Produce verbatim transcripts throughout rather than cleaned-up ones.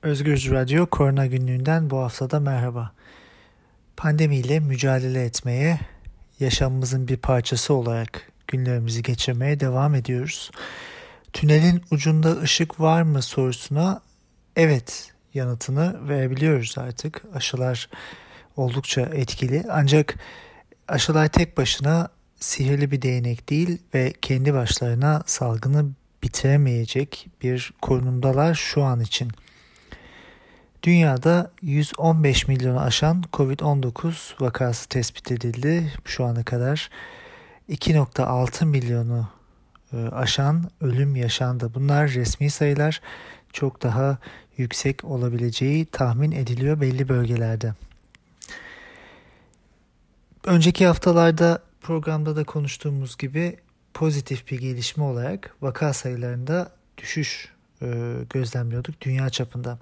Özgürüz Radyo Korona Günlüğü'nden bu haftada merhaba. Pandemiyle mücadele etmeye, yaşamımızın bir parçası olarak günlerimizi geçirmeye devam ediyoruz. Tünelin ucunda ışık var mı sorusuna evet yanıtını verebiliyoruz artık. Aşılar oldukça etkili, ancak aşılar tek başına sihirli bir değnek değil ve kendi başlarına salgını bitiremeyecek bir konumdalar şu an için. Dünyada yüz on beş milyonu aşan kovid on dokuz vakası tespit edildi şu ana kadar. iki virgül altı milyonu aşan ölüm yaşandı. Bunlar resmi sayılar, çok daha yüksek olabileceği tahmin ediliyor belli bölgelerde. Önceki haftalarda programda da konuştuğumuz gibi pozitif bir gelişme olarak vaka sayılarında düşüş gözlemliyorduk dünya çapında.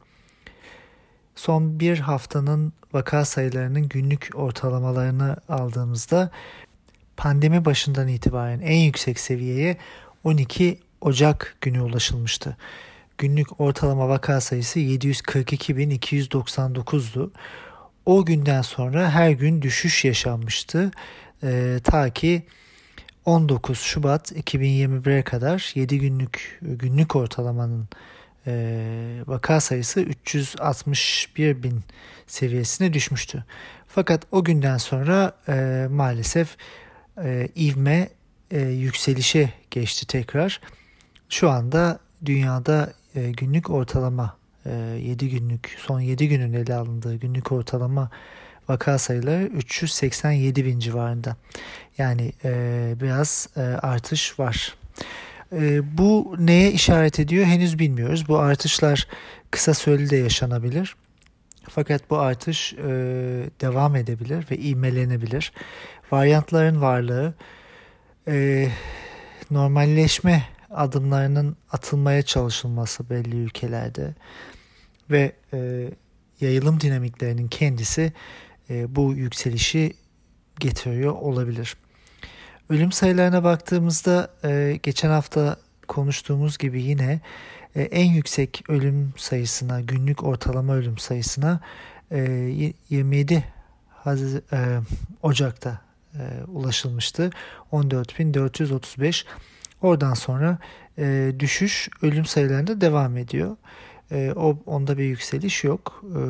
Son bir haftanın vaka sayılarının günlük ortalamalarını aldığımızda pandemi başından itibaren en yüksek seviyeye on iki Ocak günü ulaşılmıştı. Günlük ortalama vaka sayısı yedi yüz kırk iki bin iki yüz doksan dokuzdu. O günden sonra her gün düşüş yaşanmıştı. Ee, ta ki on dokuz Şubat iki bin yirmi bire kadar yedi günlük günlük ortalamanın e, vaka sayısı üç yüz altmış bir bin seviyesine düşmüştü. Fakat o günden sonra e, maalesef e, ivme e, yükselişe geçti tekrar. Şu anda dünyada e, günlük ortalama e, yedi günlük son yedi günün ele alındığı günlük ortalama vaka sayıları üç yüz seksen yedi bin civarında. Yani e, biraz e, artış var. E, bu neye işaret ediyor henüz bilmiyoruz. Bu artışlar kısa süreli de yaşanabilir. Fakat bu artış e, devam edebilir ve ivmelenebilir. Varyantların varlığı, e, normalleşme adımlarının atılmaya çalışılması belli ülkelerde ve e, yayılım dinamiklerinin kendisi e, bu yükselişi getiriyor olabilir. Ölüm sayılarına baktığımızda e, geçen hafta konuştuğumuz gibi yine e, en yüksek ölüm sayısına, günlük ortalama ölüm sayısına e, yirmi yedi Haz- e, Ocak'ta e, ulaşılmıştı. on dört bin dört yüz otuz beş. Oradan sonra e, düşüş ölüm sayılarında devam ediyor. E, o onda bir yükseliş yok. E,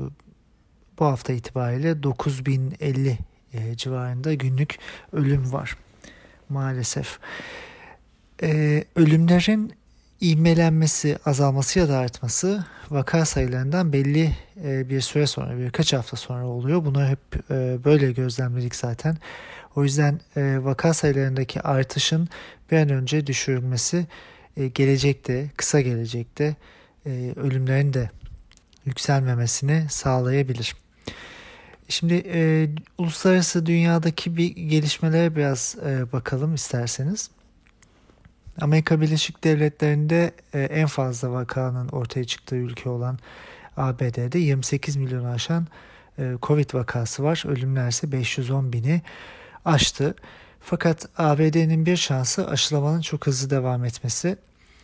bu hafta itibariyle dokuz bin elli e, civarında günlük ölüm var maalesef. E, ölümlerin ivmelenmesi, azalması ya da artması vaka sayılarından belli e, bir süre sonra, birkaç hafta sonra oluyor. Bunu hep e, böyle gözlemledik zaten. O yüzden e, vaka sayılarındaki artışın bir an önce düşürülmesi e, gelecekte, kısa gelecekte e, ölümlerin de yükselmemesini sağlayabilir. Şimdi e, uluslararası dünyadaki bir gelişmelere biraz e, bakalım isterseniz. Amerika Birleşik Devletleri'nde e, en fazla vakanın ortaya çıktığı ülke olan A B D'de yirmi sekiz milyonu aşan e, Covid vakası var. Ölümler ise beş yüz on bini aştı. Fakat A B D'nin bir şansı aşılamanın çok hızlı devam etmesi.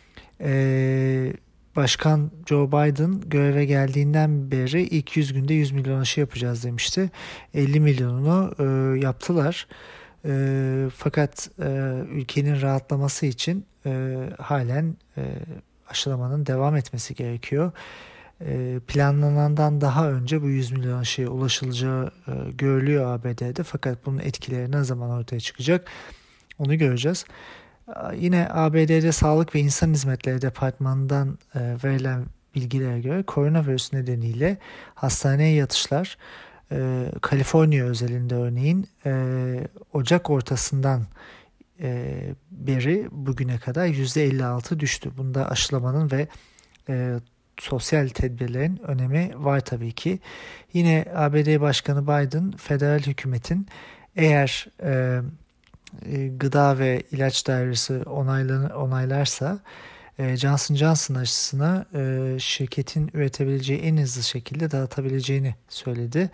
Ee, Başkan Joe Biden göreve geldiğinden beri ilk yüz günde yüz milyon aşı yapacağız demişti. elli milyonunu e, yaptılar. E, fakat e, ülkenin rahatlaması için e, halen e, aşılamanın devam etmesi gerekiyor. E, planlanandan daha önce bu yüz milyon aşıya ulaşılacağı e, görülüyor A B D'de. Fakat bunun etkileri ne zaman ortaya çıkacak onu göreceğiz. Yine A B D'de Sağlık ve İnsan Hizmetleri Departmanı'ndan e, verilen bilgilere göre koronavirüs nedeniyle hastaneye yatışlar e, Kaliforniya özelinde örneğin e, Ocak ortasından e, beri bugüne kadar yüzde elli altı düştü. Bunda aşılamanın ve e, sosyal tedbirlerin önemi var tabii ki. Yine A B D Başkanı Biden federal hükümetin eğer e, Gıda ve İlaç Dairesi onaylarsa Johnson Johnson aşısını şirketin üretebileceği en hızlı şekilde dağıtabileceğini söyledi.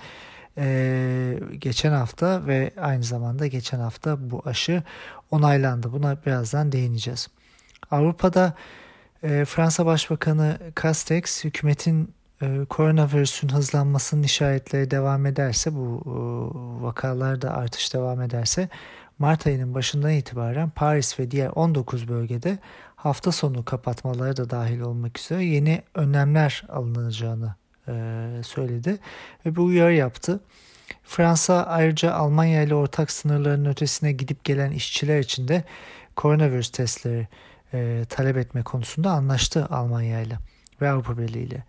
Geçen hafta ve aynı zamanda geçen hafta bu aşı onaylandı. Buna birazdan değineceğiz. Avrupa'da Fransa Başbakanı Castex hükümetin e, koronavirüsün hızlanmasının işaretleri devam ederse, bu e, vakalarda artış devam ederse Mart ayının başından itibaren Paris ve diğer on dokuz bölgede hafta sonu kapatmaları da dahil olmak üzere yeni önlemler alınacağını e, söyledi ve bu uyarı yaptı. Fransa ayrıca Almanya ile ortak sınırların ötesine gidip gelen işçiler için de koronavirüs testleri e, talep etme konusunda anlaştı Almanya ile ve Avrupa Birliği ile.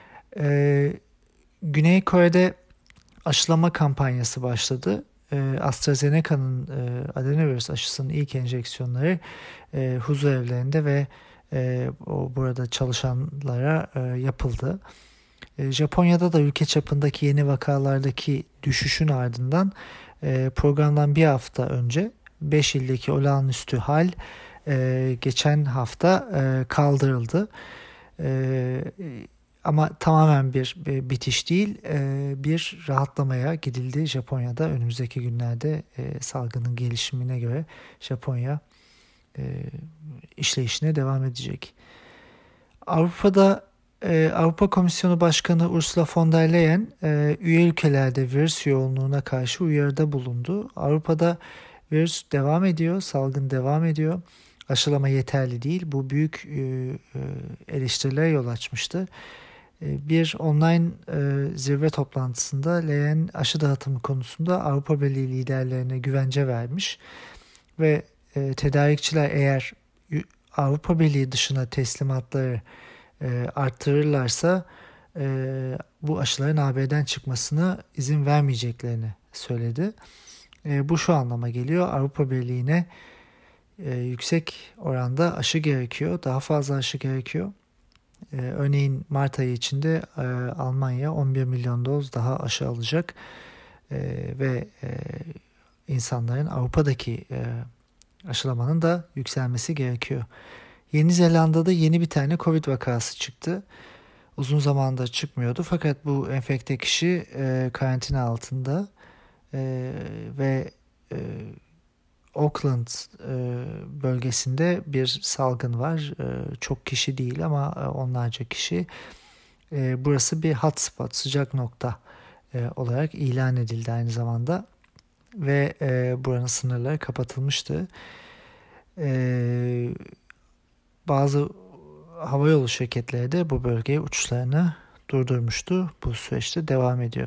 E, Güney Kore'de aşılama kampanyası başladı. E, AstraZeneca'nın e, adenovirüs aşısının ilk enjeksiyonları e, huzur evlerinde ve e, o burada çalışanlara e, yapıldı. E, Japonya'da da ülke çapındaki yeni vakalardaki düşüşün ardından e, programdan bir hafta önce beş ildeki olağanüstü hal e, geçen hafta e, kaldırıldı. E, Ama tamamen bir, bir bitiş değil, e, bir rahatlamaya gidildi Japonya'da. Önümüzdeki günlerde e, salgının gelişimine göre Japonya e, işleyişine devam edecek. Avrupa'da e, Avrupa Komisyonu Başkanı Ursula von der Leyen e, üye ülkelerde virüs yoğunluğuna karşı uyarıda bulundu. Avrupa'da virüs devam ediyor, salgın devam ediyor. Aşılama yeterli değil. Bu büyük e, e, eleştirilere yol açmıştı. Bir online e, zirve toplantısında Leyen aşı dağıtımı konusunda Avrupa Birliği liderlerine güvence vermiş ve e, tedarikçiler eğer Avrupa Birliği dışına teslimatları e, arttırırlarsa e, bu aşıların A B'den çıkmasına izin vermeyeceklerini söyledi. E, bu şu anlama geliyor: Avrupa Birliği'ne e, yüksek oranda aşı gerekiyor, daha fazla aşı gerekiyor. Ee, örneğin Mart ayı içinde e, Almanya on bir milyon doz daha aşı alacak e, ve e, insanların Avrupa'daki e, aşılamanın da yükselmesi gerekiyor. Yeni Zelanda'da yeni bir tane Covid vakası çıktı. Uzun zamandır çıkmıyordu fakat bu enfekte kişi e, karantina altında e, ve e, Auckland e, bölgesinde bir salgın var. E, çok kişi değil ama e, onlarca kişi. E, burası bir hotspot, sıcak nokta e, olarak ilan edildi aynı zamanda. Ve e, buranın sınırları kapatılmıştı. E, bazı havayolu şirketleri de bu bölgeye uçuşlarını durdurmuştu. Bu süreçte devam ediyor.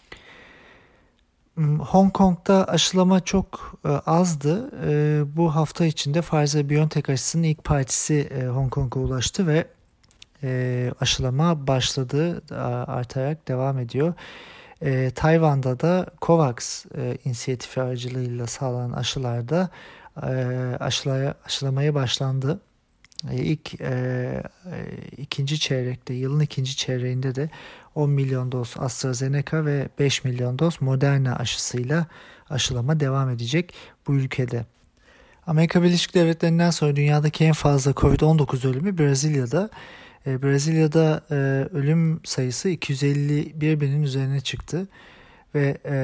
Hong Kong'da aşılama çok e, azdı. E, bu hafta içinde Pfizer-BioNTech aşısının ilk partisi e, Hong Kong'a ulaştı ve e, aşılama başladı, artarak devam ediyor. E, Tayvan'da da COVAX e, inisiyatifi aracılığıyla sağlanan aşılarda e, aşılaya, aşılamaya başlandı. E, ilk e, ikinci çeyrekte, yılın ikinci çeyreğinde de on milyon doz AstraZeneca ve beş milyon doz Moderna aşısıyla aşılama devam edecek bu ülkede. Amerika Birleşik Devletleri'nden sonra dünyadaki en fazla Covid on dokuz ölümü Brezilya'da. E, Brezilya'da e, ölüm sayısı iki yüz elli bir binin üzerine çıktı ve e,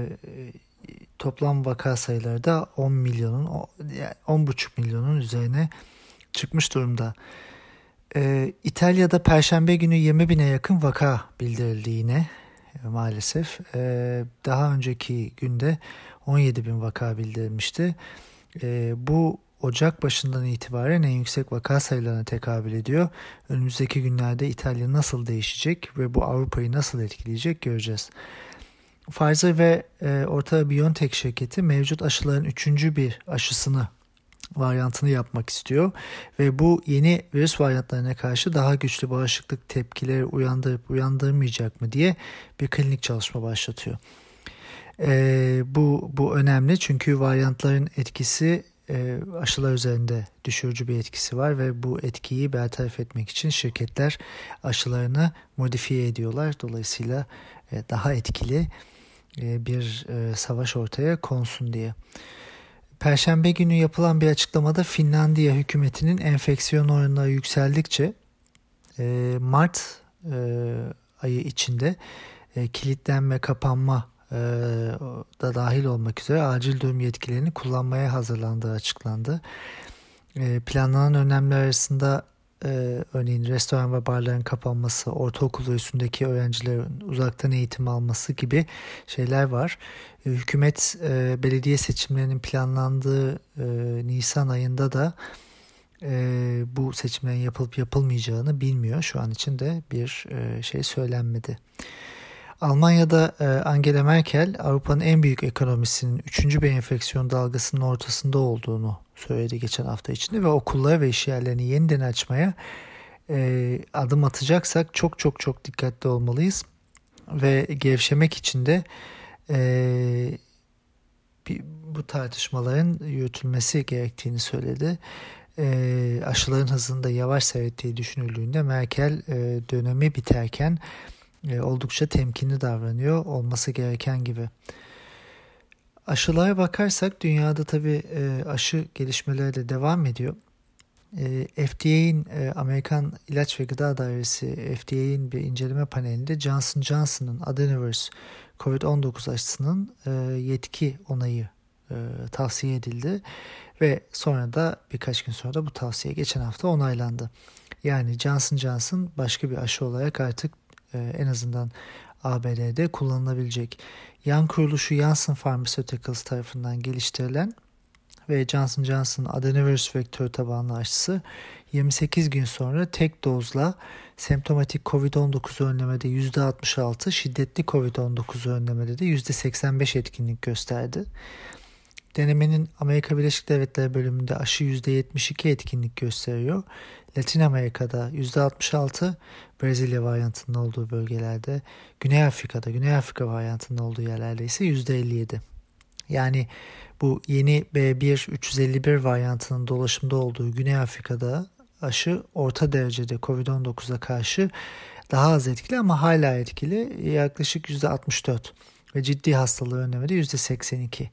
toplam vaka sayıları da on milyonun, on buçuk milyonun üzerine çıkmış durumda. Ee, İtalya'da Perşembe günü yirmi bine yakın vaka bildirildi yine e, maalesef. Ee, daha önceki günde on yedi bin vaka bildirilmişti. Ee, bu Ocak başından itibaren en yüksek vaka sayılarına tekabül ediyor. Önümüzdeki günlerde İtalya nasıl değişecek ve bu Avrupa'yı nasıl etkileyecek göreceğiz. Pfizer ve e, Orta BioNTech şirketi mevcut aşıların üçüncü bir aşısını varyantını yapmak istiyor ve bu yeni virüs varyantlarına karşı daha güçlü bağışıklık tepkileri uyandırıp uyandırmayacak mı diye bir klinik çalışma başlatıyor. Ee, bu bu önemli çünkü varyantların etkisi e, aşılar üzerinde düşürücü bir etkisi var ve bu etkiyi bertaraf etmek için şirketler aşılarını modifiye ediyorlar. Dolayısıyla e, daha etkili e, bir e, savaş ortaya konsun diye. Perşembe günü yapılan bir açıklamada Finlandiya hükümetinin enfeksiyon oranları yükseldikçe e, Mart e, ayı içinde e, kilitlenme, kapanma e, da dahil olmak üzere acil durum yetkilerini kullanmaya hazırlandığı açıklandı. E, planlanan önlemler arasında e, örneğin restoran ve barların kapanması, ortaokul ve üstündeki öğrencilerin uzaktan eğitim alması gibi şeyler var. E, hükümet e, belediye seçimlerinin planlandığı e, Nisan ayında da e, bu seçimlerin yapılıp yapılmayacağını bilmiyor. Şu an için de bir e, şey söylenmedi. Almanya'da e, Angela Merkel Avrupa'nın en büyük ekonomisinin üçüncü bir enfeksiyon dalgasının ortasında olduğunu söyledi geçen hafta içinde ve okulları ve işyerlerini yeniden açmaya e, adım atacaksak çok çok çok dikkatli olmalıyız ve gevşemek için de e, bir, bu tartışmaların yürütülmesi gerektiğini söyledi. E, aşıların hızını da yavaş seyrettiği düşünüldüğünde Merkel e, dönemi biterken e, oldukça temkinli davranıyor olması gereken gibi. Aşılara bakarsak dünyada tabii e, aşı gelişmeleri de devam ediyor. E, F D A'in e, Amerikan İlaç ve Gıda Dairesi F D A'in bir inceleme panelinde Johnson Johnson'ın Adenovirus kovid on dokuz aşısının e, yetki onayı e, tavsiye edildi ve sonra da birkaç gün sonra da bu tavsiye geçen hafta onaylandı. Yani Johnson Johnson başka bir aşı olarak artık e, en azından A B D'de kullanılabilecek. Yan kuruluşu Janssen Pharmaceuticals tarafından geliştirilen ve Johnson Johnson'ın adenovirüs vektörü tabanlı aşısı yirmi sekiz gün sonra tek dozla semptomatik kovid on dokuz önlemede yüzde altmış altı, şiddetli kovid on dokuz önlemede de yüzde seksen beş etkinlik gösterdi. Denemenin Amerika Birleşik Devletleri bölümünde aşı yüzde yetmiş iki etkinlik gösteriyor. Latin Amerika'da yüzde altmış altı, Brezilya varyantının olduğu bölgelerde, Güney Afrika'da, Güney Afrika varyantının olduğu yerlerde ise yüzde elli yedi. Yani bu yeni B bir üç yüz elli bir varyantının dolaşımda olduğu Güney Afrika'da aşı orta derecede kovid on dokuza karşı daha az etkili ama hala etkili, yaklaşık yüzde altmış dört ve ciddi hastalığı önlemede yüzde seksen iki.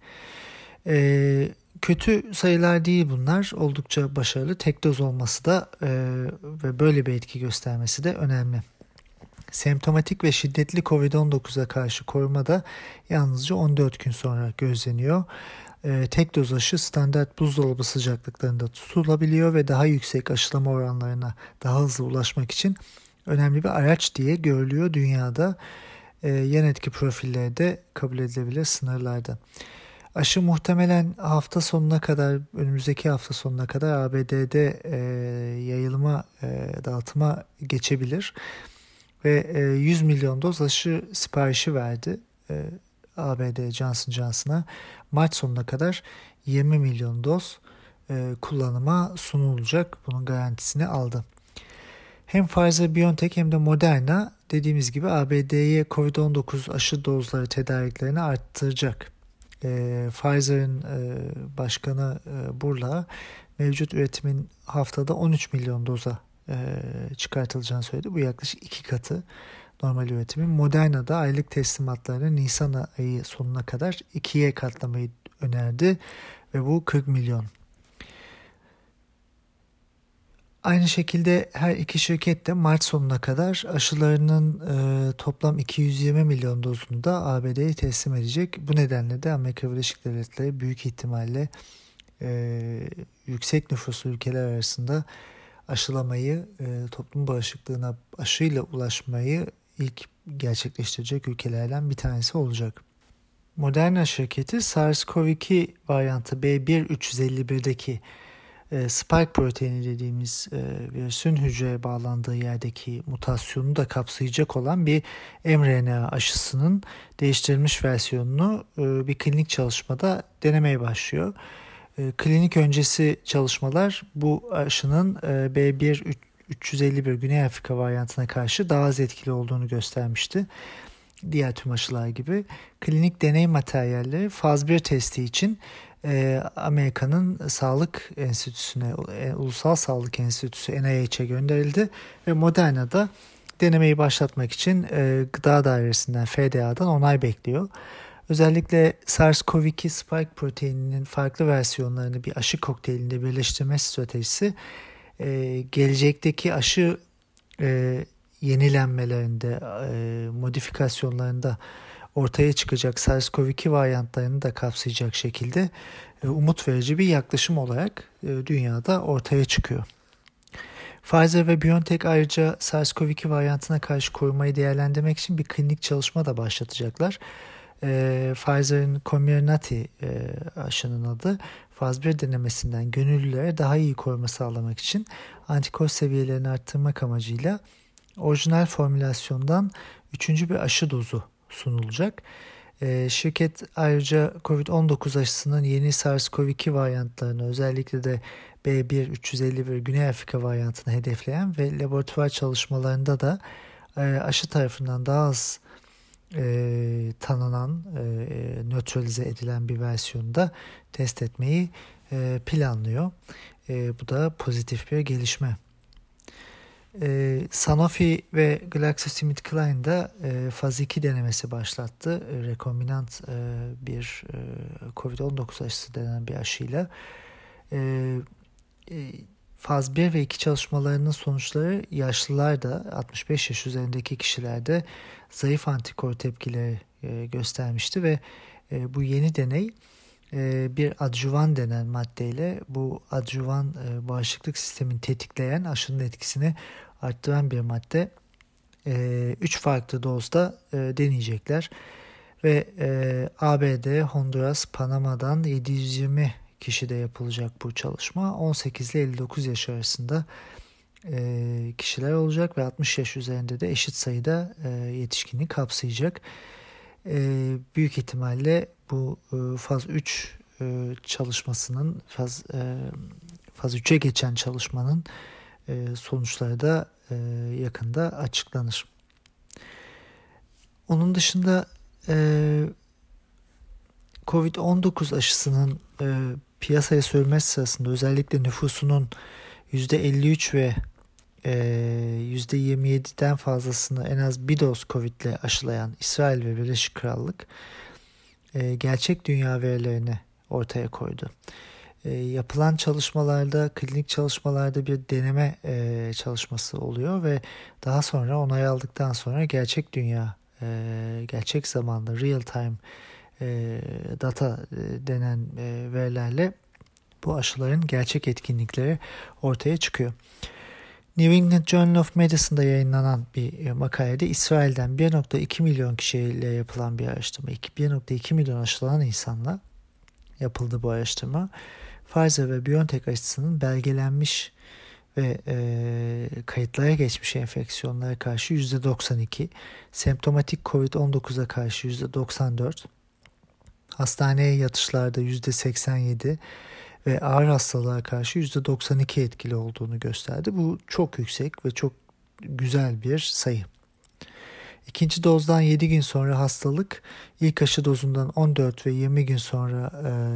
Ee, kötü sayılar değil bunlar, oldukça başarılı. Tek doz olması da e, ve böyle bir etki göstermesi de önemli. Semptomatik ve şiddetli kovid on dokuza karşı koruma da yalnızca on dört gün sonra gözleniyor. Ee, tek doz aşı standart buzdolabı sıcaklıklarında tutulabiliyor ve daha yüksek aşılama oranlarına daha hızlı ulaşmak için önemli bir araç diye görülüyor dünyada. Ee, yan etki profilleri de kabul edilebilir sınırlarda. Aşı muhtemelen hafta sonuna kadar, önümüzdeki hafta sonuna kadar A B D'de e, yayılma, e, dağıtıma geçebilir. Ve e, yüz milyon doz aşı siparişi verdi e, A B D Johnson Johnson'a. Mart sonuna kadar yirmi milyon doz e, kullanıma sunulacak. Bunun garantisini aldı. Hem Pfizer-BioNTech hem de Moderna dediğimiz gibi A B D'ye kovid on dokuz aşı dozları tedariklerini arttıracak. E, Pfizer'ın e, başkanı e, Burla mevcut üretimin haftada on üç milyon doza e, çıkartılacağını söyledi. Bu yaklaşık iki katı normal üretimin. Moderna'da aylık teslimatlarını Nisan ayı sonuna kadar ikiye katlamayı önerdi ve bu kırk milyon. Aynı şekilde her iki şirket de Mart sonuna kadar aşılarının e, toplam iki yüz yirmi milyon dozunu da A B D'ye teslim edecek. Bu nedenle de Amerika Birleşik Devletleri büyük ihtimalle e, yüksek nüfuslu ülkeler arasında aşılamayı, e, toplum bağışıklığına aşıyla ulaşmayı ilk gerçekleştirecek ülkelerden bir tanesi olacak. Moderna şirketi SARS-CoV iki varyantı B bir üç yüz elli birdeki e, spike proteini dediğimiz e, virüsün hücreye bağlandığı yerdeki mutasyonu da kapsayacak olan bir mRNA aşısının değiştirilmiş versiyonunu e, bir klinik çalışmada denemeye başlıyor. E, klinik öncesi çalışmalar bu aşının e, B bir üç yüz elli bir Güney Afrika varyantına karşı daha az etkili olduğunu göstermişti. Diğer tüm aşılar gibi. Klinik deney materyalleri faz bir testi için e, Amerika'nın Sağlık Enstitüsü'ne, e, Ulusal Sağlık Enstitüsü N I H'e gönderildi ve Moderna'da denemeyi başlatmak için e, Gıda Dairesi'nden F D A'dan onay bekliyor. Özellikle SARS-CoV iki spike proteininin farklı versiyonlarını bir aşı kokteylinde birleştirme stratejisi e, gelecekteki aşı e, yenilenmelerinde, e, modifikasyonlarında ortaya çıkacak SARS-CoV iki varyantlarını da kapsayacak şekilde e, umut verici bir yaklaşım olarak e, dünyada ortaya çıkıyor. Pfizer ve BioNTech ayrıca SARS-CoV iki varyantına karşı korumayı değerlendirmek için bir klinik çalışma da başlatacaklar. E, Pfizer'in Comirnaty e, aşının adı, faz bir denemesinden gönüllülere daha iyi koruma sağlamak için antikor seviyelerini arttırmak amacıyla orijinal formülasyondan üçüncü bir aşı dozu sunulacak. E, şirket ayrıca kovid on dokuz aşısının yeni SARS-CoV iki varyantlarını, özellikle de B bir üç yüz elli bir Güney Afrika varyantını hedefleyen ve laboratuvar çalışmalarında da e, aşı tarafından daha az e, tanınan, e, nötralize edilen bir versiyonu da test etmeyi e, planlıyor. E, bu da pozitif bir gelişme. E, Sanofi ve GlaxoSmithKline da e, faz iki denemesi başlattı. E, rekombinant e, bir e, kovid on dokuz aşısı denen bir aşıyla. E, e, faz bir ve iki çalışmalarının sonuçları yaşlılarda, altmış beş yaş üzerindeki kişilerde zayıf antikor tepkileri e, göstermişti ve e, bu yeni deney e, bir adjuvan denen maddeyle, bu adjuvan e, bağışıklık sistemini tetikleyen, aşının etkisini arttıran bir madde, üç e, farklı dozda e, deneyecekler ve e, A B D, Honduras, Panama'dan yedi yüz yirmi kişide yapılacak bu çalışma. on sekiz ile elli dokuz yaş arasında e, kişiler olacak ve altmış yaş üzerinde de eşit sayıda e, yetişkini kapsayacak. E, büyük ihtimalle bu e, faz üç e, çalışmasının, faz e, faz üçe geçen çalışmanın e, sonuçları da e, yakında açıklanır. Onun dışında e, kovid on dokuz aşısının e, piyasaya sürülmesi sırasında özellikle nüfusunun yüzde elli üç ve e, yüzde yirmi yediden fazlasını en az bir doz Covid ile aşılayan İsrail ve Birleşik Krallık e, gerçek dünya verilerini ortaya koydu. E, yapılan çalışmalarda, klinik çalışmalarda bir deneme e, çalışması oluyor ve daha sonra onay aldıktan sonra gerçek dünya, e, gerçek zamanlı real time e, data e, denen e, verilerle bu aşıların gerçek etkinlikleri ortaya çıkıyor. New England Journal of Medicine'da yayınlanan bir makalede İsrail'den bir virgül iki milyon kişiyle yapılan bir araştırma, bir virgül iki milyon aşılanan insanla yapıldı bu araştırma. Pfizer ve BioNTech aşısının belgelenmiş ve e, kayıtlara geçmiş enfeksiyonlara karşı yüzde doksan iki, semptomatik kovid on dokuza karşı yüzde doksan dört, hastaneye yatışlarda yüzde seksen yedi ve ağır hastalığa karşı yüzde doksan iki etkili olduğunu gösterdi. Bu çok yüksek ve çok güzel bir sayı. İkinci dozdan yedi gün sonra hastalık, ilk aşı dozundan on dört ve yirmi gün sonra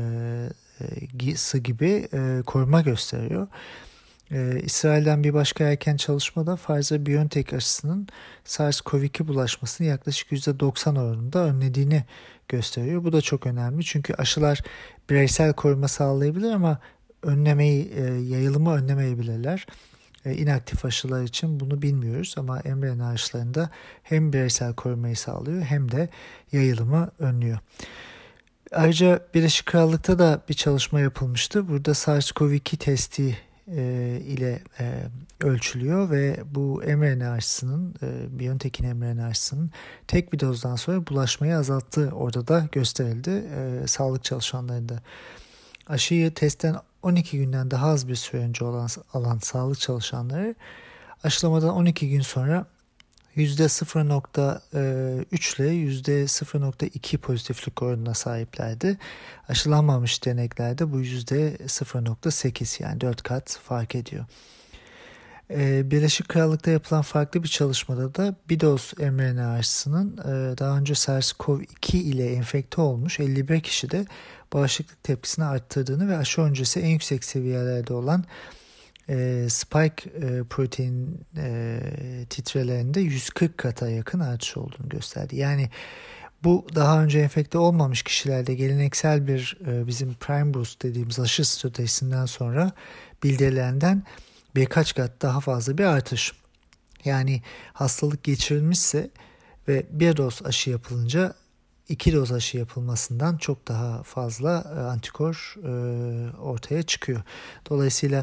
e, gibi e, koruma gösteriyor. E, İsrail'den bir başka erken çalışmada Pfizer-BioNTech aşısının SARS-CoV iki bulaşmasını yaklaşık yüzde doksan oranında önlediğini gösteriyor. Bu da çok önemli çünkü aşılar bireysel koruma sağlayabilir ama önlemeyi, e, yayılımı önlemeyebilirler. E, inaktif aşılar için bunu bilmiyoruz ama mRNA aşılarında hem bireysel korumayı sağlıyor hem de yayılımı önlüyor. Ayrıca Birleşik Krallık'ta da bir çalışma yapılmıştı. Burada SARS-CoV iki testi e, ile e, ölçülüyor ve bu mRNA aşısının, e, BioNTech'in mRNA aşısının tek bir dozdan sonra bulaşmayı azalttığı orada da gösterildi. E, sağlık çalışanlarında aşıyı testten on iki günden daha az bir süre önce olan, alan sağlık çalışanları aşılamadan on iki gün sonra yüzde sıfır virgül üç ile yüzde sıfır virgül iki pozitiflik oranına sahiplerdi. Aşılanmamış deneklerde bu yüzde sıfır virgül sekiz, yani dört kat fark ediyor. Birleşik Krallık'ta yapılan farklı bir çalışmada da bir doz mRNA aşısının daha önce SARS-CoV iki ile enfekte olmuş elli bir kişide bağışıklık tepkisini arttırdığını ve aşı öncesi en yüksek seviyelerde olan e, spike e, protein e, titrelerinde yüz kırk kata yakın artış olduğunu gösterdi. Yani bu daha önce enfekte olmamış kişilerde geleneksel bir e, bizim prime boost dediğimiz aşı stratejisinden sonra bildirilenden birkaç kat daha fazla bir artış. Yani hastalık geçirilmişse ve bir doz aşı yapılınca iki doz aşı yapılmasından çok daha fazla antikor ortaya çıkıyor. Dolayısıyla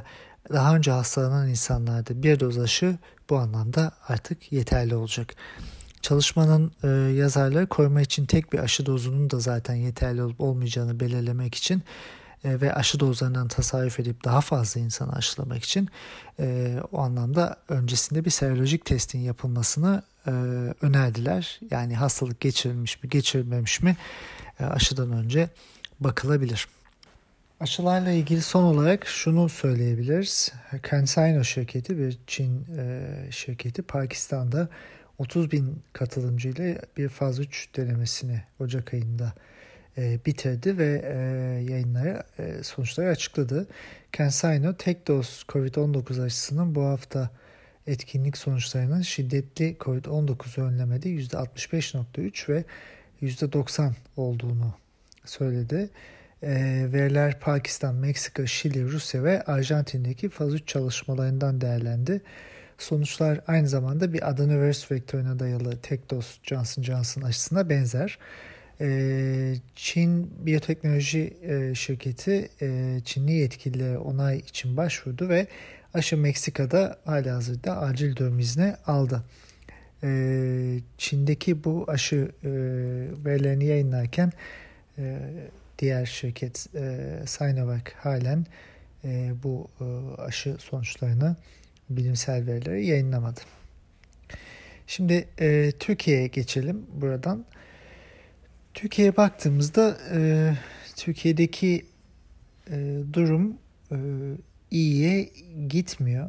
daha önce hastalanan insanlarda bir doz aşı bu anlamda artık yeterli olacak. Çalışmanın e, yazarları koruma için tek bir aşı dozunun da zaten yeterli olup olmayacağını belirlemek için e, ve aşı dozlarından tasarruf edip daha fazla insanı aşılamak için e, o anlamda öncesinde bir serolojik testin yapılmasını e, önerdiler. Yani hastalık geçirilmiş mi geçirilmemiş mi e, aşıdan önce bakılabilir. Aşılarla ilgili son olarak şunu söyleyebiliriz. CanSino şirketi, bir Çin e, şirketi, Pakistan'da otuz bin katılımcıyla bir faz üç denemesini Ocak ayında e, bitirdi ve e, yayınlara e, sonuçları açıkladı. CanSino tek doz kovid on dokuz aşısının bu hafta etkinlik sonuçlarının şiddetli kovid on dokuz önlemede yüzde altmış beş nokta üç ve yüzde doksan olduğunu söyledi. E, veriler Pakistan, Meksika, Şili, Rusya ve Arjantin'deki faz üç çalışmalarından değerlendi. Sonuçlar aynı zamanda bir adenovirüs vektörüne dayalı tek doz Johnson Johnson aşısına benzer. E, Çin biyoteknoloji e, şirketi e, Çinli yetkililere onay için başvurdu ve aşı Meksika'da halihazırda acil durum izni aldı. E, Çin'deki bu aşı e, verilerini yayınlarken e, diğer şirket e, Sinovac halen e, bu e, aşı sonuçlarını, bilimsel verileri yayınlamadı. Şimdi e, Türkiye'ye geçelim buradan. Türkiye'ye baktığımızda e, Türkiye'deki e, durum e, iyiye gitmiyor.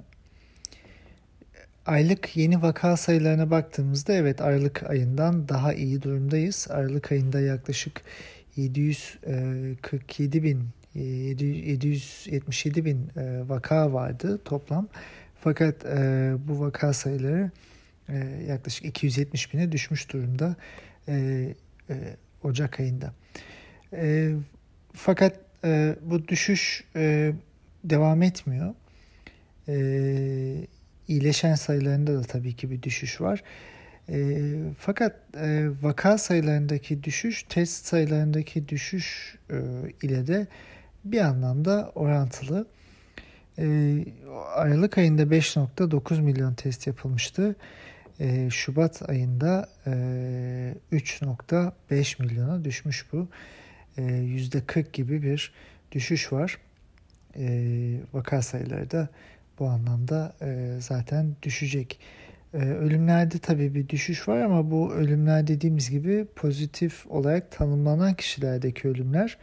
Aylık yeni vaka sayılarına baktığımızda evet Aralık ayından daha iyi durumdayız. Aralık ayında yaklaşık yedi yüz kırk yedi bin, yedi yüz yetmiş yedi bin vaka vardı toplam. Fakat e, bu vaka sayıları e, yaklaşık iki yüz yetmiş bine düşmüş durumda e, e, Ocak ayında. E, fakat e, bu düşüş e, devam etmiyor. E, iyileşen sayılarında da tabii ki bir düşüş var. E, fakat e, vaka sayılarındaki düşüş, test sayılarındaki düşüş e, ile de bir anlamda orantılı. E, Aralık ayında beş nokta dokuz milyon test yapılmıştı. E, Şubat ayında e, üç nokta beş milyona düşmüş bu. E, yüzde kırk gibi bir düşüş var. E, vaka sayıları da bu anlamda e, zaten düşecek. E, ölümlerde tabii bir düşüş var ama bu ölümler dediğimiz gibi pozitif olarak tanımlanan kişilerdeki ölümler.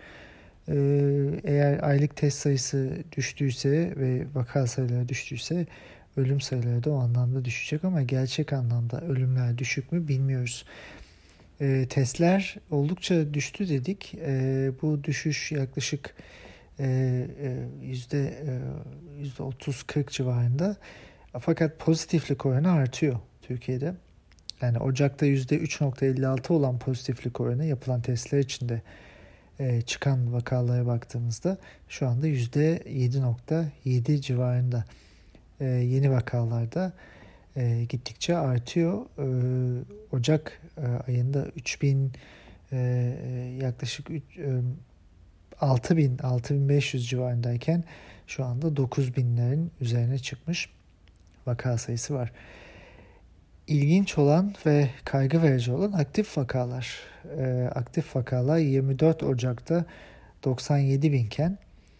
Eğer aylık test sayısı düştüyse ve vaka sayıları düştüyse ölüm sayıları da o anlamda düşecek ama gerçek anlamda ölümler düşük mü bilmiyoruz. E, testler oldukça düştü dedik. E, bu düşüş yaklaşık e, e, yüzde e, yüzde otuz kırk civarında. Fakat pozitiflik oranı artıyor Türkiye'de. Yani Ocak'ta yüzde üç nokta elli altı olan pozitiflik oranı yapılan testler içinde çıkan vakalara baktığımızda şu anda yüzde yedi nokta yedi civarında. Yeni vakalarda gittikçe artıyor. Ocak ayında üç bin yaklaşık altı bin altı bin beş yüz civarındayken şu anda dokuz binlerin üzerine çıkmış vaka sayısı var. İlginç olan ve kaygı verici olan aktif vakalar. E, aktif vakalar yirmi dört Ocak'ta doksan yedi binken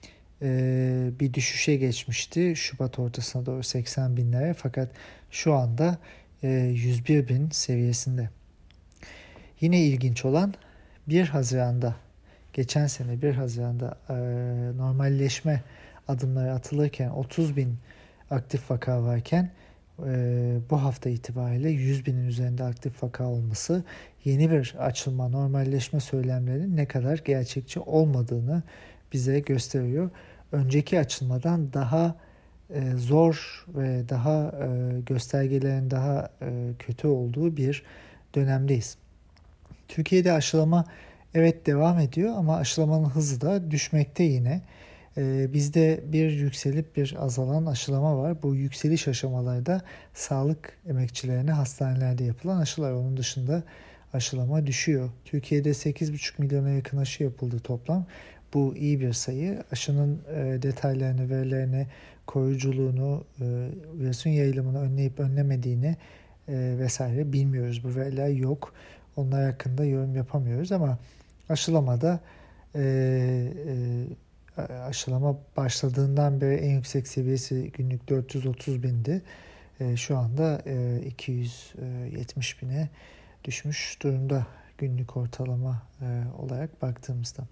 e, bir düşüşe geçmişti. Şubat ortasına doğru seksen binlere, fakat şu anda e, yüz bir bin seviyesinde. Yine ilginç olan bir Haziran'da, geçen sene bir Haziran'da e, normalleşme adımları atılırken otuz bin aktif vaka varken bu hafta itibariyle yüz binin üzerinde aktif vaka olması yeni bir açılma, normalleşme söylemlerinin ne kadar gerçekçi olmadığını bize gösteriyor. Önceki açılmadan daha zor ve daha göstergelerin daha kötü olduğu bir dönemdeyiz. Türkiye'de aşılama evet devam ediyor ama aşılamanın hızı da düşmekte yine. Bizde bir yükselip bir azalan aşılama var. Bu yükseliş aşamalarda sağlık emekçilerine hastanelerde yapılan aşılar. Onun dışında aşılama düşüyor. Türkiye'de sekiz buçuk milyona yakın aşı yapıldı toplam. Bu iyi bir sayı. Aşının e, detaylarını, verilerini, koruyuculuğunu, e, virüsün yayılımını önleyip önlemediğini e, vesaire bilmiyoruz. Bu veriler yok. Onlar hakkında yorum yapamıyoruz ama aşılamada e, e, aşılama başladığından beri en yüksek seviyesi günlük dört yüz otuz bindi. E, şu anda e, iki yüz yetmiş bine düşmüş durumda günlük ortalama e, olarak baktığımızda.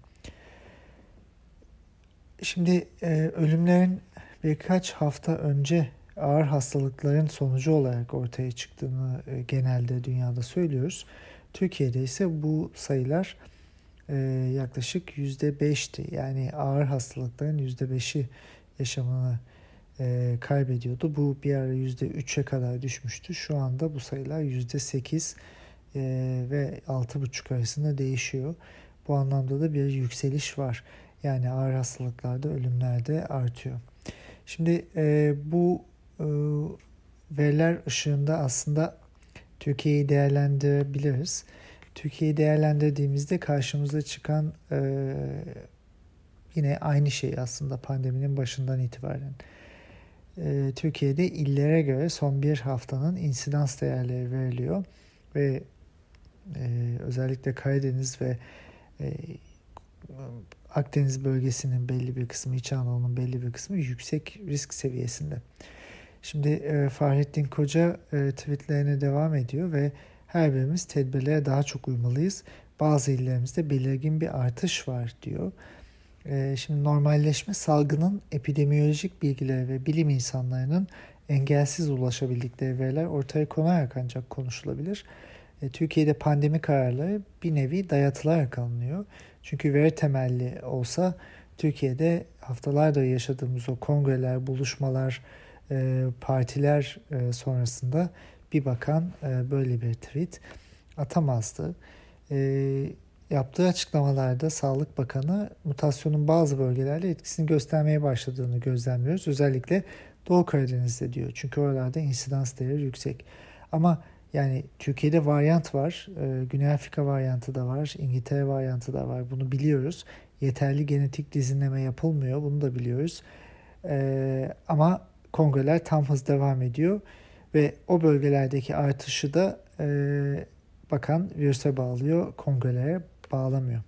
Şimdi e, ölümlerin birkaç hafta önce ağır hastalıkların sonucu olarak ortaya çıktığını e, genelde dünyada söylüyoruz. Türkiye'de ise bu sayılar e, yaklaşık yüzde beşti. Yani ağır hastalıkların yüzde beşi yaşamını e, kaybediyordu. Bu bir ara yüzde üçe kadar düşmüştü. Şu anda bu sayılar yüzde sekiz e, ve altı buçuk arasında değişiyor. Bu anlamda da bir yükseliş var. Yani ağır hastalıklarda ölümler de artıyor. Şimdi e, bu e, veriler ışığında aslında Türkiye'yi değerlendirebiliriz. Türkiye'yi değerlendirdiğimizde karşımıza çıkan e, yine aynı şey aslında pandeminin başından itibaren. E, Türkiye'de illere göre son bir haftanın insidans değerleri veriliyor ve e, özellikle Karadeniz ve e, Akdeniz bölgesinin belli bir kısmı, İç Anadolu'nun belli bir kısmı yüksek risk seviyesinde. Şimdi e, Fahrettin Koca e, tweetlerine devam ediyor ve her birimiz tedbirlere daha çok uymalıyız. Bazı illerimizde belirgin bir artış var diyor. E, şimdi normalleşme salgının epidemiyolojik bilgileri ve bilim insanlarının engelsiz ulaşabildikleri veriler ortaya konarak ancak konuşulabilir. E, Türkiye'de pandemi kararları bir nevi dayatılarak alınıyor. Çünkü veri temelli olsa Türkiye'de haftalardır yaşadığımız o kongreler, buluşmalar, e, partiler e, sonrasında bir bakan e, böyle bir tweet atamazdı. E, yaptığı açıklamalarda Sağlık Bakanı mutasyonun bazı bölgelerde etkisini göstermeye başladığını gözlemliyoruz. Özellikle Doğu Karadeniz'de diyor. Çünkü oralarda insidans değeri yüksek. Ama yani Türkiye'de varyant var, e, Güney Afrika varyantı da var, İngiltere varyantı da var. Bunu biliyoruz. Yeterli genetik dizinleme yapılmıyor, bunu da biliyoruz. E, ama kongreler tam hız devam ediyor ve o bölgelerdeki artışı da e, bakan virüse bağlıyor, kongrelere bağlamıyor.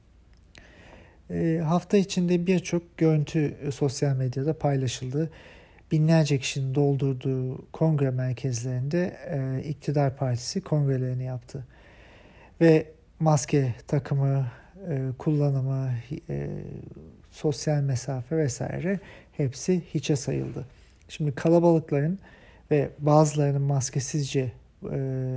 E, hafta içinde birçok görüntü e, sosyal medyada paylaşıldı. Binlerce kişinin doldurduğu kongre merkezlerinde e, iktidar partisi kongrelerini yaptı. Ve maske takımı, e, kullanımı, e, sosyal mesafe vesaire hepsi hiçe sayıldı. Şimdi kalabalıkların ve bazılarının maskesizce e,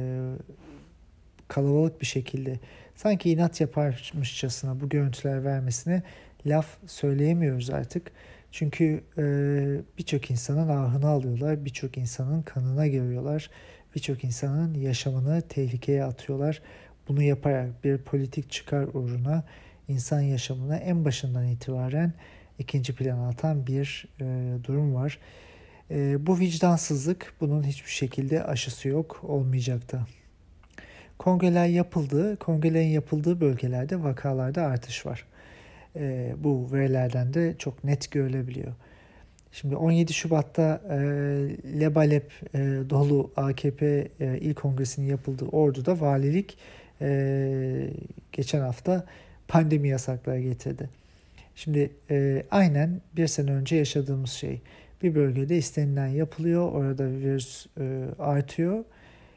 kalabalık bir şekilde sanki inat yaparmışçasına bu görüntüler vermesine laf söyleyemiyoruz artık. Çünkü e, birçok insanın ahını alıyorlar, birçok insanın kanına giriyorlar, birçok insanın yaşamını tehlikeye atıyorlar. Bunu yaparak bir politik çıkar uğruna insan yaşamını en başından itibaren ikinci plana atan bir e, durum var. E, bu vicdansızlık, bunun hiçbir şekilde aşısı yok, olmayacak da. Kongreler yapıldı, kongrelerin yapıldığı bölgelerde vakalarda artış var. E, bu verilerden de çok net görülebiliyor. Şimdi on yedi Şubat'ta e, lebalep e, dolu A K P e, İl Kongresi'nin yapıldığı Ordu'da valilik e, geçen hafta pandemi yasakları getirdi. Şimdi e, aynen bir sene önce yaşadığımız şey. Bir bölgede istenilen yapılıyor, orada virüs e, artıyor.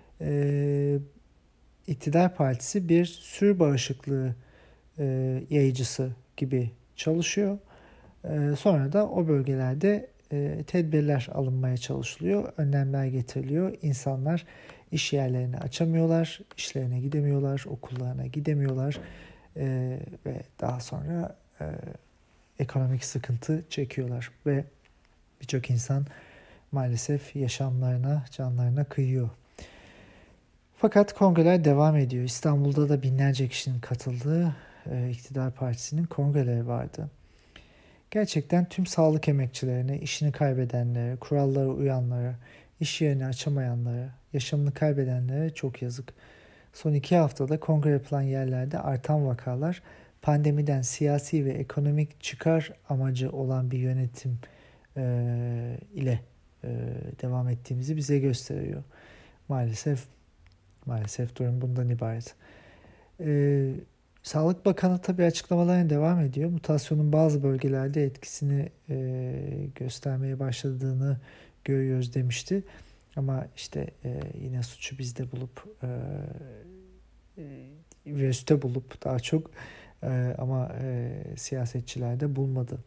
E, İktidar Partisi bir sürü bağışıklığı e, yayıcısı gibi çalışıyor. E, sonra da o bölgelerde e, tedbirler alınmaya çalışılıyor, önlemler getiriliyor. İnsanlar iş yerlerini açamıyorlar, işlerine gidemiyorlar, okullarına gidemiyorlar e, ve daha sonra e, ekonomik sıkıntı çekiyorlar ve birçok insan maalesef yaşamlarına, canlarına kıyıyor. Fakat kongreler devam ediyor. İstanbul'da da binlerce kişinin katıldığı e, iktidar partisinin kongreleri vardı. Gerçekten tüm sağlık emekçilerine, işini kaybedenlere, kurallara uyanlara, iş yerini açamayanlara, yaşamını kaybedenlere çok yazık. Son iki haftada kongre yapılan yerlerde artan vakalar pandemiden siyasi ve ekonomik çıkar amacı olan bir yönetim e, ile e, devam ettiğimizi bize gösteriyor. Maalesef maalesef durum bundan ibaret. E, Sağlık Bakanı tabii açıklamalarına devam ediyor. Mutasyonun bazı bölgelerde etkisini e, göstermeye başladığını görüyoruz demişti. Ama işte e, yine suçu bizde bulup e, virüste bulup daha çok e, ama e, siyasetçilerde bulmadı.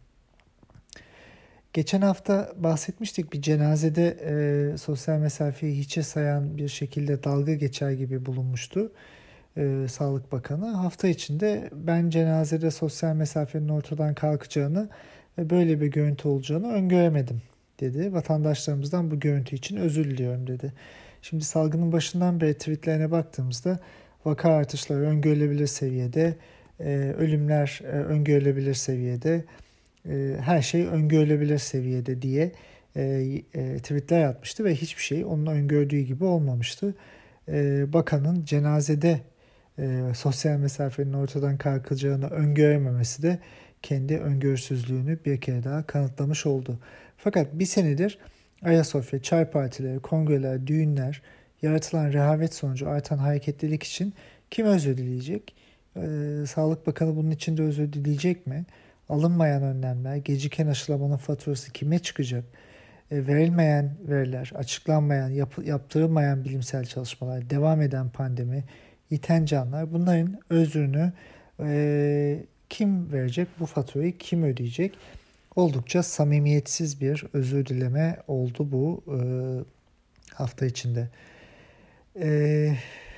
Geçen hafta bahsetmiştik, bir cenazede e, sosyal mesafeyi hiçe sayan bir şekilde dalga geçer gibi bulunmuştu e, Sağlık Bakanı. Hafta içinde ben cenazede sosyal mesafenin ortadan kalkacağını ve böyle bir görüntü olacağını öngöremedim dedi. Vatandaşlarımızdan bu görüntü için özür diliyorum dedi. Şimdi salgının başından beri tweetlerine baktığımızda vaka artışları öngörülebilir seviyede, e, ölümler e, öngörülebilir seviyede, e, her şey öngörülebilir seviyede diye e, e, tweetler atmıştı ve hiçbir şey onun öngördüğü gibi olmamıştı. E, bakanın cenazede e, sosyal mesafenin ortadan kalkacağını öngörememesi de kendi öngörüsüzlüğünü bir kere daha kanıtlamış oldu. Fakat bir senedir Ayasofya, çay partileri, kongreler, düğünler, yaratılan rehavet sonucu artan hareketlilik için kim özür dileyecek? Ee, Sağlık Bakanı bunun için de özür dileyecek mi? Alınmayan önlemler, geciken aşılamanın faturası kime çıkacak? E, verilmeyen veriler, açıklanmayan, yap, yaptırılmayan bilimsel çalışmalar, devam eden pandemi, yiten canlar, bunların özrünü e, kim verecek? Bu faturayı kim ödeyecek? Oldukça samimiyetsiz bir özür dileme oldu bu e, hafta içinde. E,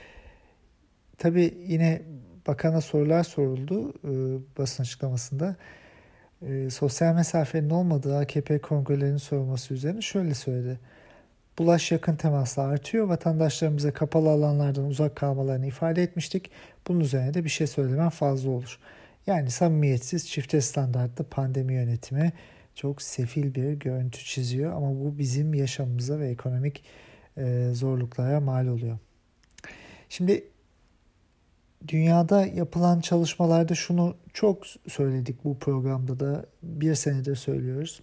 tabii yine bakana sorular soruldu e, basın açıklamasında. E, sosyal mesafenin olmadığı A K P kongrelerinin sorulması üzerine şöyle söyledi. Bulaş yakın temasla artıyor. Vatandaşlarımıza kapalı alanlardan uzak kalmalarını ifade etmiştik. Bunun üzerine de bir şey söylemem fazla olur. Yani samimiyetsiz, çifte standartlı pandemi yönetimi çok sefil bir görüntü çiziyor. Ama bu bizim yaşamımıza ve ekonomik e, zorluklara mal oluyor. Şimdi dünyada yapılan çalışmalarda şunu çok söyledik, bu programda da bir senedir söylüyoruz.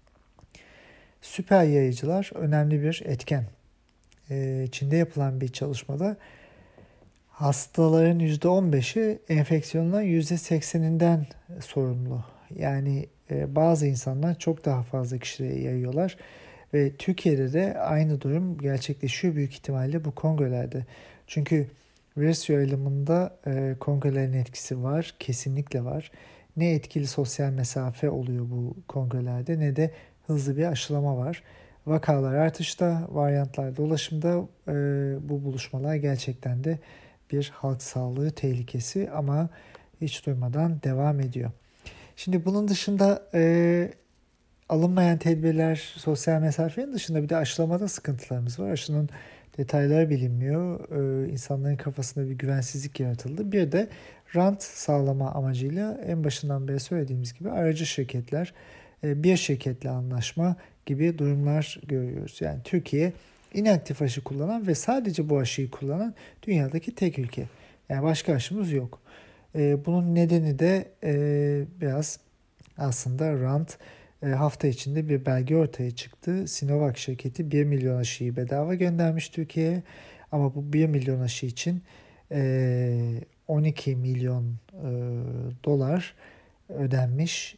Süper yayıcılar önemli bir etken. Ee, Çin'de yapılan bir çalışmada hastaların yüzde on beşi enfeksiyonların yüzde sekseninden sorumlu. Yani e, bazı insanlar çok daha fazla kişiye yayıyorlar. Ve Türkiye'de de aynı durum gerçekleşiyor büyük ihtimalle bu kongrelerde. Çünkü virüs yayılımında e, kongrelerin etkisi var, kesinlikle var. Ne etkili sosyal mesafe oluyor bu kongrelerde ne de hızlı bir aşılama var. Vakalar artışta, varyantlar dolaşımda, e, bu buluşmalar gerçekten de bir halk sağlığı tehlikesi ama hiç durmadan devam ediyor. Şimdi bunun dışında e, alınmayan tedbirler, sosyal mesafenin dışında bir de aşılamada sıkıntılarımız var. Aşının detayları bilinmiyor. Ee, insanların kafasında bir güvensizlik yaratıldı. Bir de rant sağlama amacıyla en başından beri söylediğimiz gibi aracı şirketler, e, bir şirketle anlaşma gibi durumlar görüyoruz. Yani Türkiye inaktif aşı kullanan ve sadece bu aşıyı kullanan dünyadaki tek ülke. Yani başka aşımız yok. E, bunun nedeni de e, biraz aslında rant. Hafta içinde bir belge ortaya çıktı. Sinovac şirketi bir milyon aşıyı bedava göndermiş Türkiye'ye. Ama bu bir milyon aşı için on iki milyon dolar ödenmiş.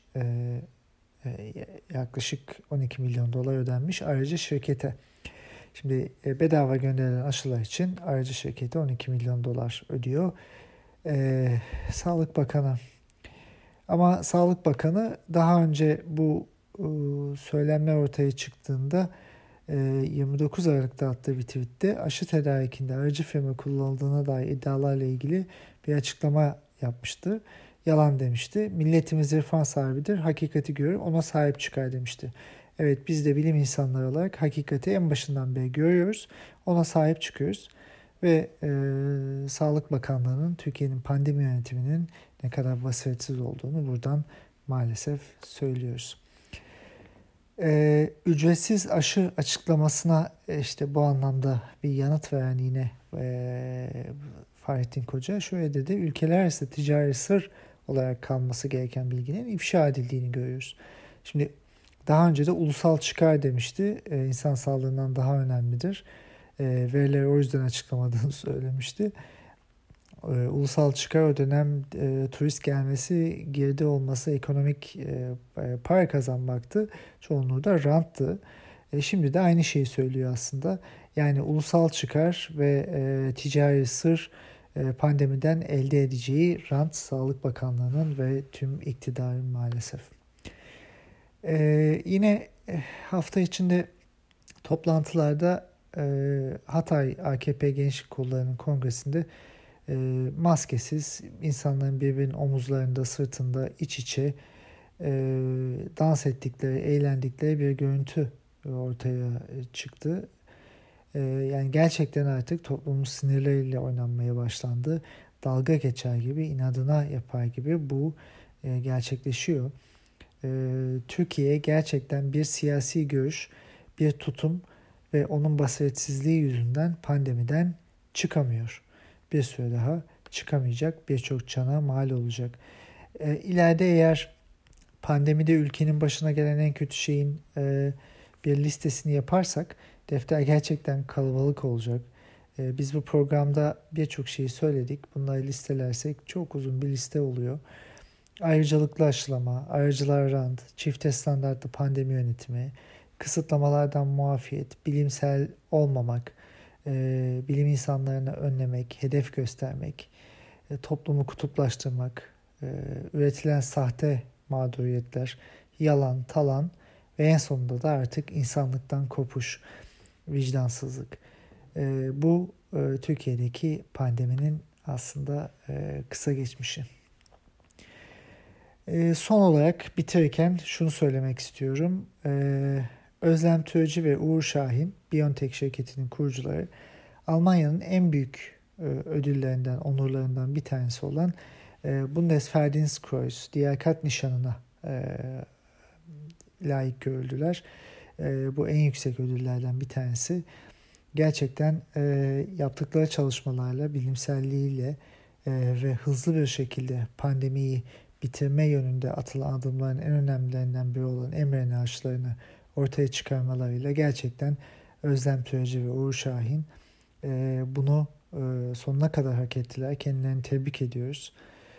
Yaklaşık on iki milyon dolar ödenmiş aracı şirkete. Şimdi bedava gönderilen aşılar için aracı şirketi on iki milyon dolar ödüyor. Sağlık Bakanı. Ama Sağlık Bakanı daha önce bu e, söylemler ortaya çıktığında e, yirmi dokuz Aralık'ta attığı bir tweette aşı tedarikinde aracı firma kullanıldığına dair iddialarla ilgili bir açıklama yapmıştı. Yalan demişti. Milletimiz irfan sahibidir. Hakikati görür, ona sahip çıkar demişti. Evet, biz de bilim insanları olarak hakikati en başından beri görüyoruz. Ona sahip çıkıyoruz. Ve e, Sağlık Bakanlığı'nın Türkiye'nin pandemi yönetiminin ne kadar basiretsiz olduğunu buradan maalesef söylüyoruz. E, ücretsiz aşı açıklamasına işte bu anlamda bir yanıt veren yine e, Fahrettin Koca şöyle dedi. Ülkeler arası ticari sır olarak kalması gereken bilginin ifşa edildiğini görüyoruz. Şimdi daha önce de ulusal çıkar demişti. E, insan sağlığından daha önemlidir. E, verileri o yüzden açıklamadığını söylemişti. E, ulusal çıkar o dönem e, turist gelmesi, girdi olması, ekonomik e, para kazanmaktı. Çoğunluğu da ranttı. E, şimdi de aynı şeyi söylüyor aslında. Yani ulusal çıkar ve e, ticari sır e, pandemiden elde edeceği rant Sağlık Bakanlığı'nın ve tüm iktidarın maalesef. E, yine hafta içinde toplantılarda e, Hatay A K P Gençlik Kolları'nın kongresinde e, maskesiz insanların birbirinin omuzlarında, sırtında iç içe e, dans ettikleri, eğlendikleri bir görüntü ortaya çıktı. E, yani gerçekten artık toplumun sinirleriyle oynanmaya başlandı. Dalga geçer gibi, inadına yapar gibi bu e, gerçekleşiyor. E, Türkiye gerçekten bir siyasi görüş, bir tutum ve onun basiretsizliği yüzünden pandemiden çıkamıyor. Bir süre daha çıkamayacak, birçok cana mal olacak. E, ileride eğer pandemide ülkenin başına gelen en kötü şeyin e, bir listesini yaparsak defter gerçekten kalabalık olacak. E, biz bu programda birçok şeyi söyledik. Bunları listelersek çok uzun bir liste oluyor. Ayrıcalıklı aşılama, aracılar rant, çifte standartlı pandemi yönetimi, kısıtlamalardan muafiyet, bilimsel olmamak, e, bilim insanlarını önlemek, hedef göstermek, e, toplumu kutuplaştırmak, e, üretilen sahte mağduriyetler, yalan, talan ve en sonunda da artık insanlıktan kopuş, vicdansızlık. E, bu e, Türkiye'deki pandeminin aslında e, kısa geçmişi. E, son olarak bitirirken şunu söylemek istiyorum. E, Özlem Türeci ve Uğur Şahin, BioNTech şirketinin kurucuları, Almanya'nın en büyük e, ödüllerinden, onurlarından bir tanesi olan e, Bundesverdienstkreuz, liyakat nişanına e, layık görüldüler. E, bu en yüksek ödüllerden bir tanesi. Gerçekten e, yaptıkları çalışmalarla, bilimselliğiyle e, ve hızlı bir şekilde pandemiyi bitirme yönünde atılan adımların en önemlilerinden biri olan mRNA aşılarını ortaya çıkarmalarıyla gerçekten Özlem Türeci ve Uğur Şahin e, bunu e, sonuna kadar hak ettiler. Kendilerini tebrik ediyoruz.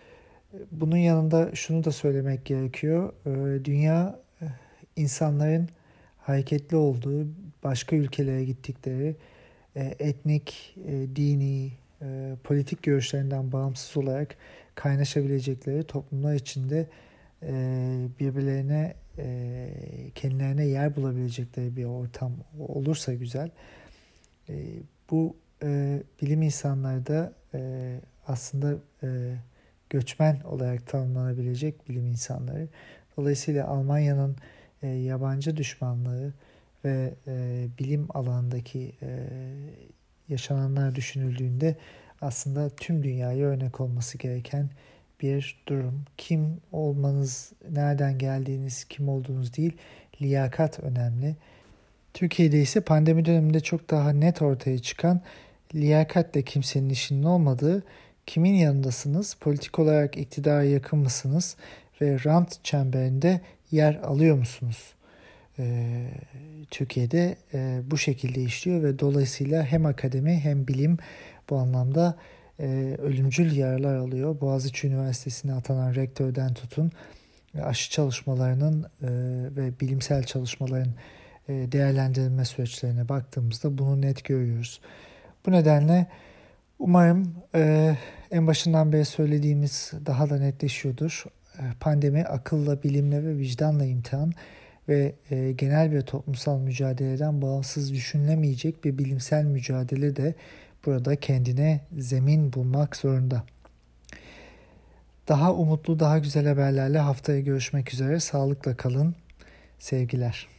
Bunun yanında şunu da söylemek gerekiyor. E, dünya e, insanların hareketli olduğu, başka ülkelere gittikleri, e, etnik, e, dini, e, politik görüşlerinden bağımsız olarak kaynaşabilecekleri toplumlar içinde e, birbirlerine, e, kendilerine yer bulabilecekleri bir ortam olursa güzel. E, bu e, bilim insanları da e, aslında e, göçmen olarak tanımlanabilecek bilim insanları. Dolayısıyla Almanya'nın e, yabancı düşmanlığı ve e, bilim alanındaki e, yaşananlar düşünüldüğünde aslında tüm dünyaya örnek olması gereken bir durum. Kim olmanız, nereden geldiğiniz, kim olduğunuz değil, liyakat önemli. Türkiye'de ise pandemi döneminde çok daha net ortaya çıkan liyakatle kimsenin işinin olmadığı, kimin yanındasınız, politik olarak iktidara yakın mısınız ve rant çemberinde yer alıyor musunuz? Ee, Türkiye'de e, bu şekilde işliyor ve dolayısıyla hem akademi hem bilim bu anlamda e, ölümcül yaralar alıyor. Boğaziçi Üniversitesi'ne atanan rektörden tutun, aşı çalışmalarının e, ve bilimsel çalışmaların e, değerlendirilme süreçlerine baktığımızda bunu net görüyoruz. Bu nedenle umarım e, en başından beri söylediğimiz daha da netleşiyordur. E, pandemi akılla, bilimle ve vicdanla imtihan ve e, genel bir toplumsal mücadeleden bağımsız düşünülemeyecek bir bilimsel mücadele de burada kendine zemin bulmak zorunda. Daha umutlu, daha güzel haberlerle haftaya görüşmek üzere. Sağlıkla kalın. Sevgiler.